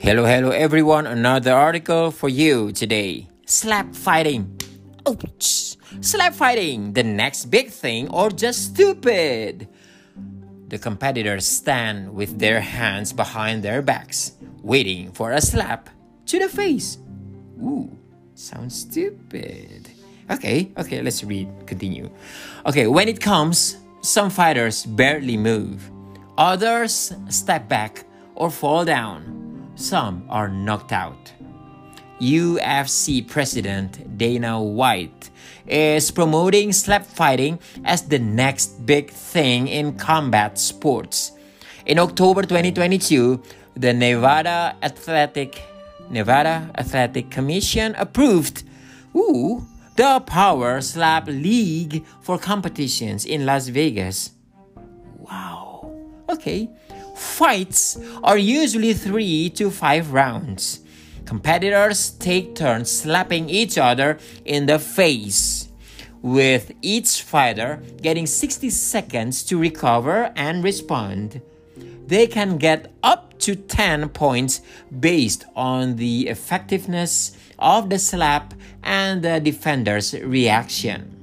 Hello everyone, another article for you today. Slap fighting. Ouch! Slap fighting, the next big thing or just stupid? The competitors stand with their hands behind their backs, waiting for a slap to the face. Ooh, sounds stupid. Okay, let's continue. Okay, when it comes, some fighters barely move. Others step back or fall down. Some are knocked out. UFC President Dana White is promoting slap fighting as the next big thing in combat sports. In October 2022, the Nevada Athletic Commission approved the Power Slap League for competitions in Las Vegas. Wow. Okay. Fights are usually 3 to 5 rounds. Competitors take turns slapping each other in the face, with each fighter getting 60 seconds to recover and respond. They can get up to 10 points based on the effectiveness of the slap and the defender's reaction.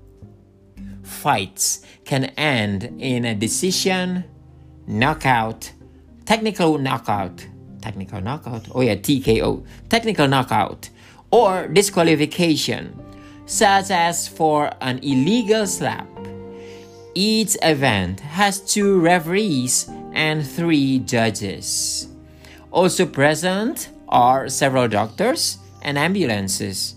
Fights can end in a decision, knockout, technical knockout, or disqualification, such as for an illegal slap. Each event has 2 referees and 3 judges. Also present are several doctors and ambulances.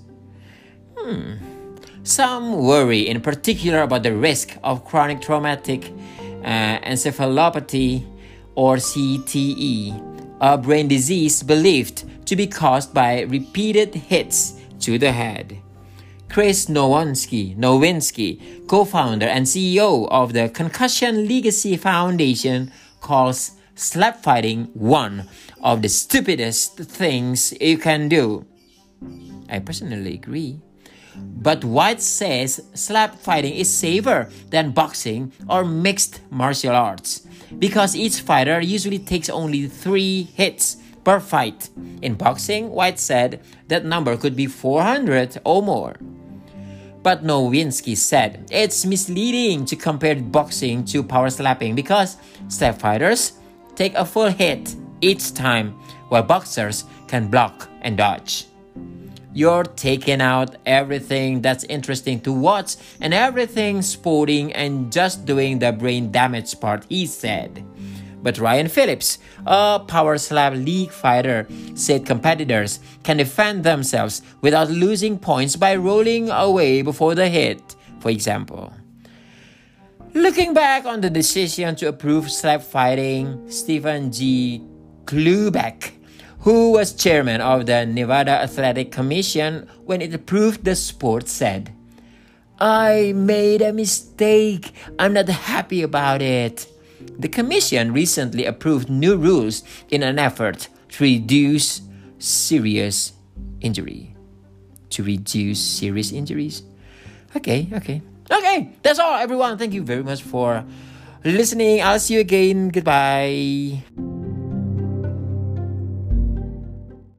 Some worry in particular about the risk of chronic traumatic encephalopathy or CTE, a brain disease believed to be caused by repeated hits to the head. Chris Nowinski, co-founder and CEO of the Concussion Legacy Foundation, calls slap fighting one of the stupidest things you can do. I personally agree. But White says slap fighting is safer than boxing or mixed martial arts because each fighter usually takes only 3 hits per fight. In boxing, White said that number could be 400 or more. But Nowinski said it's misleading to compare boxing to power slapping because slap fighters take a full hit each time while boxers can block and dodge. You're taking out everything that's interesting to watch and everything sporting and just doing the brain damage part, he said. But Ryan Phillips, a Power Slap League fighter, said competitors can defend themselves without losing points by rolling away before the hit, for example. Looking back on the decision to approve slap fighting, Stephen G. Klubeck, who was chairman of the Nevada Athletic Commission when it approved the sport, said, "I made a mistake. I'm not happy about it." The commission recently approved new rules in an effort to reduce serious injuries. Okay. That's all, everyone. Thank you very much for listening. I'll see you again. Goodbye.